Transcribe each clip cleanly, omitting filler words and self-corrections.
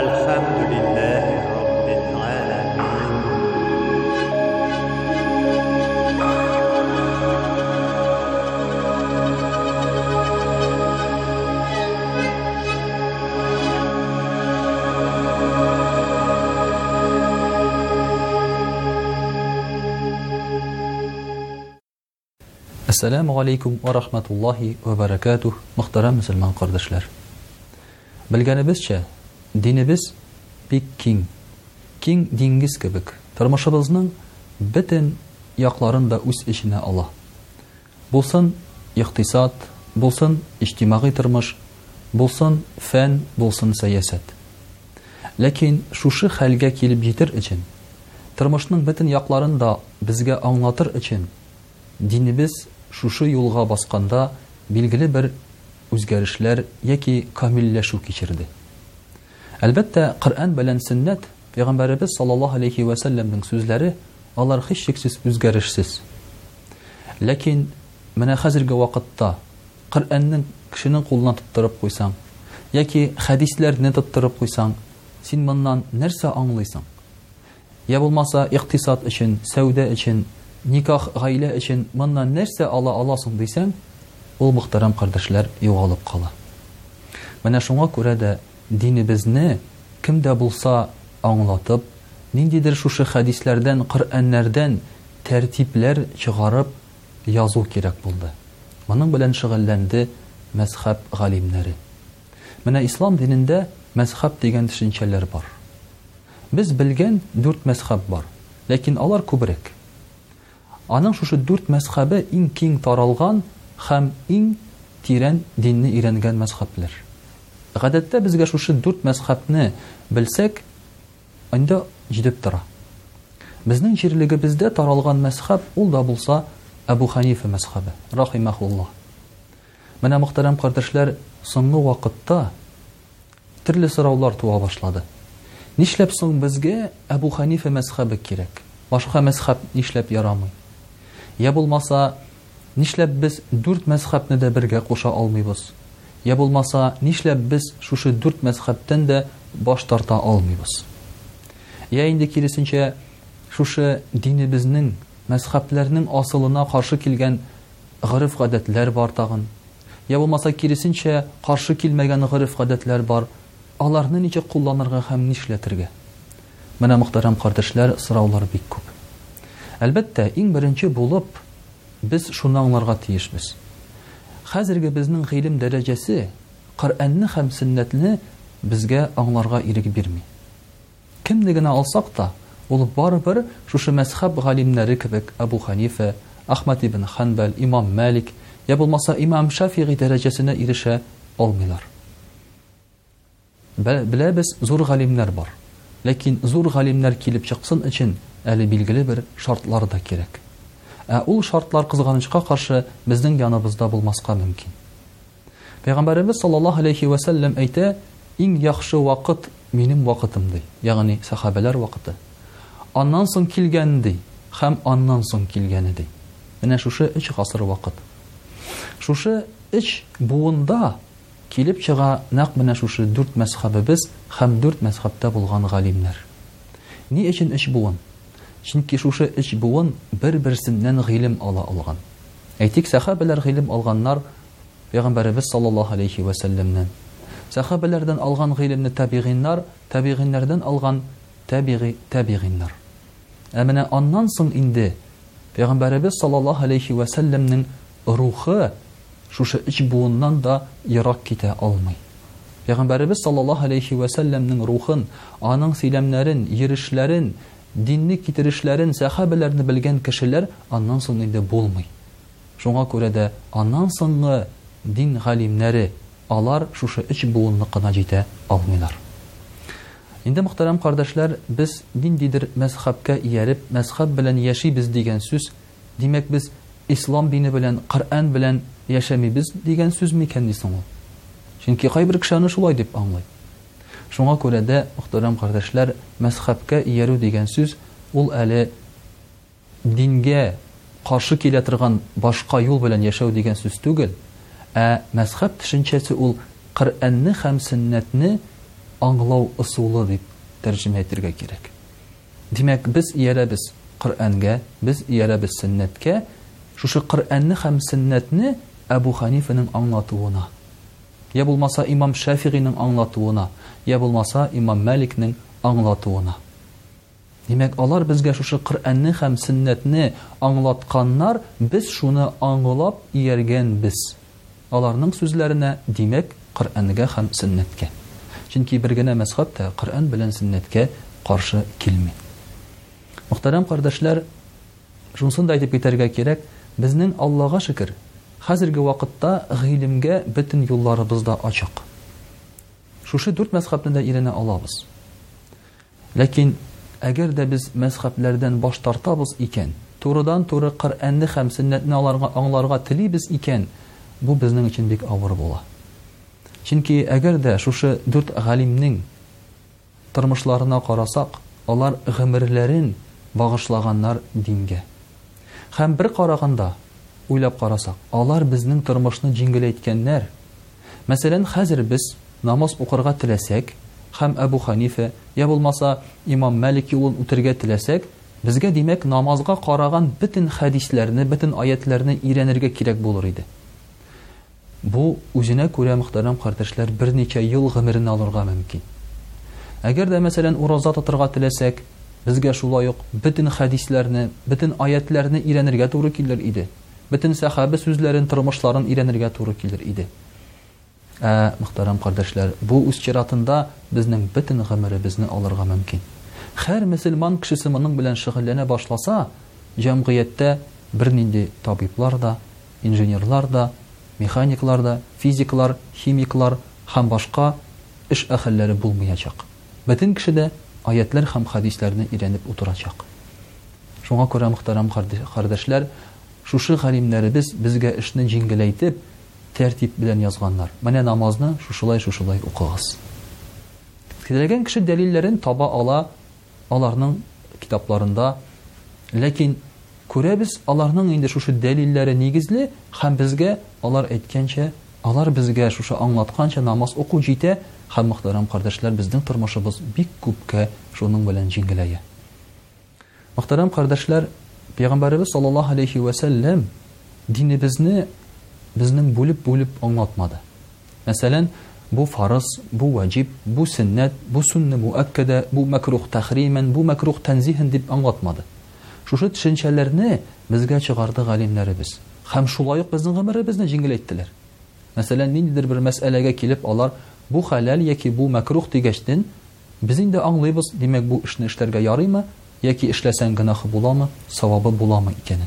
الحمد لله رب العالمين. Assalamu alaikum wa rahmatullahi wa barakatuh. Muhtaram Müslüman kardeşler. Bilgenibizçe dinimiz bik king dengiz kebek. Tırmışımızın bütün yaklarında üst içine Allah. Bulsun iktisat, bulsun içtimai tırmış, bulsun fen, bulsun siyaset. Lakin şuşu halga kelip jetir için, tırmışның bütün yaklarında bizge anlatır için, dinimiz şuşu yolga basqanda bilgili bir үзгәрешләр яки камилләшү кичерде. Әлбәттә, Коръән белән Сөннәт, Пәйгамбәребез саллаллаһу алейхи ва сәлләмнең сүзләре, алар һичшиксез үзгәрешсез. Ләкин менә хәзерге вакытта Коръәннең кешенең кулына тоттырып куйсаң, яки хәдисләрне тоттырып куйсаң, син моннан нәрсә аңлыйсың? Я булмаса иктисад өчен, сәүдә өчен, никах, гаилә өчен моннан нәрсә ала аласың дисәң, ул мөхтәрәм кардәшләр югалып кала. Менә шуңа күрә дә динебезне кемдә булса аңлатып, ниндидер шушы хәдисләрдән, Коръәннәрдән тәртипләр чыгарып язу кирәк булды. Моның белән шөгыльләнде мәзһәб галимнәре. Менә ислам динендә мәзһәб дигән төшенчәләр бар. Без белгән 4 мәзһәб бар, ләкин алар күбрәк. Аның шушы 4 мәзһәбе иң киң таралган һәм иң тирән динне өйрәнгән мәзһәбләр. Гадәттә безгә шушы 4 мәзһәбне белсәк, анда җитеп тора. Безнең җирлегебездә таралган мәзһәб ул да булса Абу Ханифа мәзһәбе, рахимахуллаһ. Менә мөхтәрәм кардәшләр, соңгы вакытта төрле сораулар туа башлады. Нишләп соң безгә Абу Ханифа мәзһәбе кирәк? Башка мәзһәб нишләп ярамый? Я булмаса нишләп без 4 мәзһәбне дә бергә куша алмыйбыз? Я булмаса нишләп без шушы 4 мәзһәбтән дә баш тарта алмыйбыз? Я инде киресенчә шушы динебезнең, мәзһәбләрнең асылына каршы килгән гырыф-гадәтләр бар тагын. Я булмаса киресенчә каршы килмәгән гырыф-гадәтләр бар. Аларны ничек кулланырга һәм нишләтергә? Менә мөхтәрәм кардәшләр, сораулар бик күп. Әлбәттә, иң беренче булып biz шуны аңларга тиешбез. Хәзерге безнең гыйлем дәрәҗәсе Коръәнне һәм Сөннәтне безгә аңларга ирек бирми. Кемне генә алсак та, ул барыбер шушы мәзһәб галимнәре кебек Абу Ханифа, Ахмад ибн Ханбал, Имам Малик, я булмаса Имам Шафиғи дәрәҗәсенә ирешә алмыйлар. Беләбез, зур галимнәр бар. Ләкин зур галимнәр килеп чыксын өчен әле билгеле бер шартлар да кирәк. Ул шартлар кызганычка каршы безнең яныбызда булмаска мөмкин. Пәйгамбәребез саллаллаһу алейхи ва сәлләм әйтә, иң яхшы вакыт минем вакытым ди, ягъни сахабалар вакыты. Аннан соң килгән ди, һәм аннан соң килгәне ди. Менә шушы 3 гасыр вакыт. Шушы 3 буында килеп чыга нәкъ менә шушы 4 мәзһәбебез һәм 4 мәзһәбтә булган галимнәр. Ни өчен 3 буын? Чөнки шушы 3 буын бер-берсеннән гыйлем ала алган. Әйтик, сахабалар гыйлем алганнар Пәйгамбәребез саллаллаһу алейхи ва сәлләмнән. Сахабалардан алган гыйлемне табигиннар, табигиннәрдән алган табигиннар. Менә аннан соң инде Пәйгамбәребез саллаллаһу алейхи ва сәлләмнең рухы шушы 3 буыннан да ерак китә алмый. Пәйгамбәребез саллаллаһу алейхи ва сәлләмнең рухын, аның сөйләмнәрен, йөрешләрен, динне китерешләрен, сахабаларны белгән кешеләр аннан соң инде булмый. Шуңа күрә дә аннан соңгы дин галимнәре, алар шушы 3 буынны кына җитә алмыйлар. Инде мөхтәрәм кардәшләр, без ниндидер мәзһәбкә ияреп, мәзһәб белән яшибез дигән сүз, димәк без ислам дине белән, Коръән белән яшәмибез дигән сүз микән дисең ул? Чөнки кайбер кешеләр шулай дип аңлый. Шуңа күрә дә, мөхтәрәм кардәшләр, мәзһәбкә иярү дигән сүз ул әле дингә каршы килә торган башка юл белән яшәү дигән сүз түгел, мәзһәб төшенчәсе ул Коръәнне һәм Сөннәтне аңлау ысулы дип тәрҗемә итәргә кирәк. Димәк, без иярәбез Коръәнгә, без иярәбез сөннәткә, шушы Коръәнне һәм сөннәтне Әбу Ханифаның аңлатуына, я булмаса Имам Шафиғиның аңлатуына, я булмаса Имам Маликның аңлатуына. Димәк, алар безгә шушы Коръәнне һәм сөннәтне аңлатканнар, без шуны аңлап ияргәнбез. Аларның сүзләренә, димәк, Коръәнгә һәм сөннәткә. Чөнки бер генә мәзһәб тә Коръән белән сөннәткә каршы килми. Мөхтәрәм кардәшләр, шунысын да әйтеп китәргә кирәк, безнең Аллаһка шөкер, хәзерге вакытта гыйлемгә бөтен юлларыбыз да ачык. Шушы 4 мәзһәбне дә өйрәнә алабыз. Ләкин әгәр дә без мәзһәбләрдән баш тартабыз икән, турыдан-туры Коръәнне һәм сөннәтне аңларга телибез икән, бу безнең өчен бик авыр була. Чөнки әгәр дә шушы 4 галимнең тормышларына карасак, алар гомерләрен багышлаганнар дингә. Һәм бер караганда уйлап карасак, алар безнең тормышны җиңеләйткәннәр. Мәсәлән, хәзер без намаз укырга теләсәк, һәм Әбу Ханифа, я булмаса Имам Малик юлын үтәргә теләсәк, безгә димәк намазга караган бөтен хәдисләрне, бөтен аятларны өйрәнергә кирәк булыр иде. Бу үзенә күрә, мөхтәрәм кардәшләр, берничә ел гомерен алырга мөмкин. Әгәр дә мәсәлән ураза тотырга теләсәк, безгә шулай ук бөтен хәдисләрне, бөтен аятларны өйрәнергә туры килер иде. Бөтен сахаба сүзләрен, тормышларын өйрәнергә туры килер иде. Мөхтәрәм кардәшләр, бу үз чиратында безнең бөтен гомеребезне алырга мөмкин. Һәр мөселман кешесе моның белән шөгыльләнә башласа, җәмгыятьтә бернинди табиблар да, инженерлар да, механиклар да, физиклар, химиклар һәм башка эш әһелләре булмаячак. Бөтен кеше дә аятлар һәм хәдисләрне өйрәнеп утырачак. Шуңа күрә, мөхтәрәм кардәшләр, шушы галимнәребез безгә эшне җиңеләйтеп, тәртип белән язганнар. Менә намазны шушылай укыгыз. Теләгән кеше дәлилләрен таба ала аларның китапларында, ләкин күрәбез, аларның инде шушы дәлилләре нигезле, һәм безгә алар әйткәнчә, алар безгә шушы аңлатканча намаз уку җитә, һәм мөхтәрәм кардәшләр, безнең тормышыбыз бик күпкә шуның белән җиңеләя. Мөхтәрәм кардәшләр, Пәйгамбәрбез саллаллаһу алейхи ва сәллям динебезне безнең бүлеп аңлатмады. Мәсәлән, бу фарыз, бу ваҗиб, бу сөннәт, бу сунна муаккада, бу макрух тахриман, бу макрух танзихан дип аңлатмады. Шушы төшенчәләрне безгә чыгарды галимнәребез. Һәм шулай ук безнең гомеребезне җиңеләйттеләр. Мәсәлән, ниндидер бер мәсьәләгә килеп, алар бу халал яки бу макрух дигәчтен, без инде аңлыйбыз, димәк бу эшне эшләргә ярыймы, яки эшләсәң гынахы буламы, савабы буламы икәнен.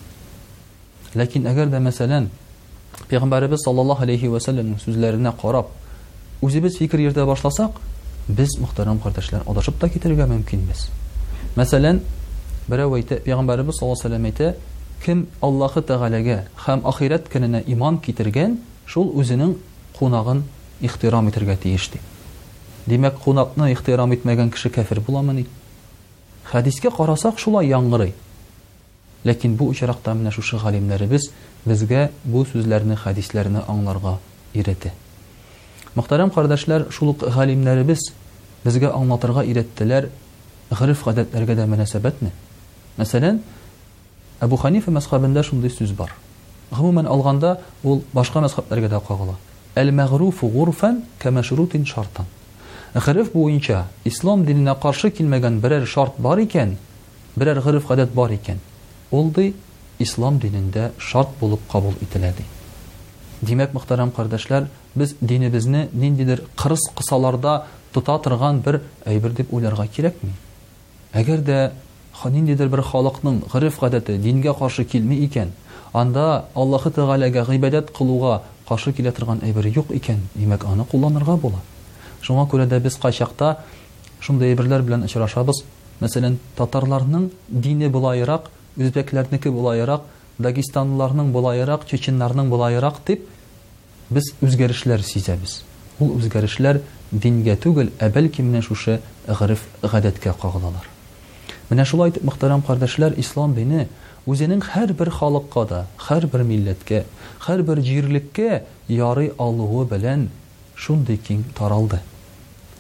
Ләкин әгәр дә мәсәлән, Пәйгамбәрбез саллаллаһу алейхи ва сәллямның сүзләренә карап, үзебез фикер йөртә башласак, без, мөхтәрәм кардәшләр, адашып та китәргә мөмкинбез. Мәсәлән, берәү әйтә, Пәйгамбәрбез саллаллаһу алейхи ва сәллям әйтә, кем Аллаһы Тәгаләгә һәм ахират көненә иман китергән, шул үзенең кунагын ихтирам итәргә тиеш ди. Димәк, кунакны ихтирам итмәгән кеше кафир буламы ни? Хәдискә карасак, шулай яңгырый. Ләкин бу очракта менә шушы галимнәребез безгә бу сүзләрне, хәдисләрне аңларга өйрәтә. Мөхтәрәм кардәшләр, шул ук галимнәребез безгә аңлатырга өйрәттеләр гырыф-гадәтләргә дә мөнәсәбәтне. Мәсәлән, Әбу Ханифа мәзһәбендә шундый сүз бар. Гомумән алганда, ул башка мәзһәбләргә дә кагыла. Әл-мәгруфу гурфан кәмәшрутин шартан. Гырыф буенча ислам диненә каршы килмәгән берәр шарт бар икән, берәр гырыф-гадәт бар икән, ул ди ислам динендә шарт булып кабул ителә ди. Димәк, мөхтәрәм кардәшләр, без динебезне ниндидер кырыс кысаларда тота торган бер әйбер дип уйларга кирәкми. Әгәр дә ниндидер бер халыкның гырыф-гадәте дингә каршы килми икән, анда Аллаһы Тәгаләгә гыйбадәт кылуга каршы килә торган әйбер юк икән, димәк, аны кулланырга була. Шуңа күрә дә без кайчакта шундый әйберләр белән очрашабыз. Мәсәлән, татарларның дине булайрак, үзбәкләрнеке булайрак, дагестанлыларның булайрак, чеченнарның булайрак дип без үзгәрешләр сизәбез. Ул үзгәрешләр дингә түгел, бәлки менә шушы гырыф-гадәткә кагылалар. Менә шулай итеп, мөхтәрәм кардәшләр, ислам дине үзенең һәрбер халыкка да, һәрбер милләткә, һәрбер җирлеккә ярый алуы белән шундый киң таралды.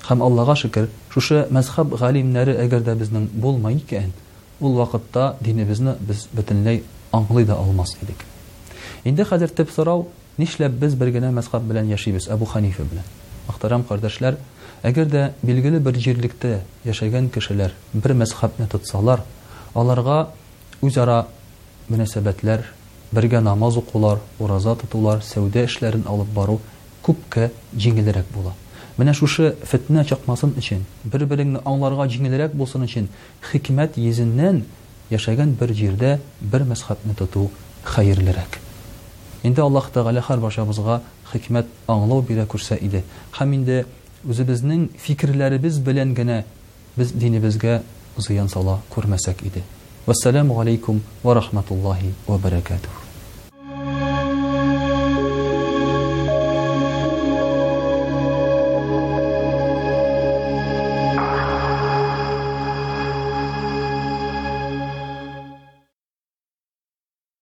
Һәм Аллаһка шөкер, шушы мәзһәб галимнәре әгәр дә безнең булмай икән, ул вакытта динебезне без бөтенләй аңлый да алмас идек. Инде хәзер төп сорау, нишләп без бер генә мәзһәб белән яшибез, Әбу Ханифа белән? Мөхтәрәм кардәшләр, әгәр дә билгеле бер җирлектә яшәгән кешеләр бер мәзһәбне тотсалар, аларга үзара мөнәсәбәтләр, бергә намаз укулар, ураза тотулар, сәүдә эшләрен алып бару күпкә җиңелрәк була. Менә шушы фитнә чыкмасын өчен, бер-береңне аңларга җиңелрәк булсын өчен, хикмәт йөзеннән яшәгән бер җирдә бер мәзһәбне тоту хәерлерәк. Инде Аллаһ Тәгалә һәрбашыбызга хикмәт аңлау бирә күрсә иде. Һәм инде үзебезнең фикерләребез белән генә без динебезгә зыян сала күрмәсәк иде. Вассаламу алейкум ва рахматуллаһи ва баракатуһ.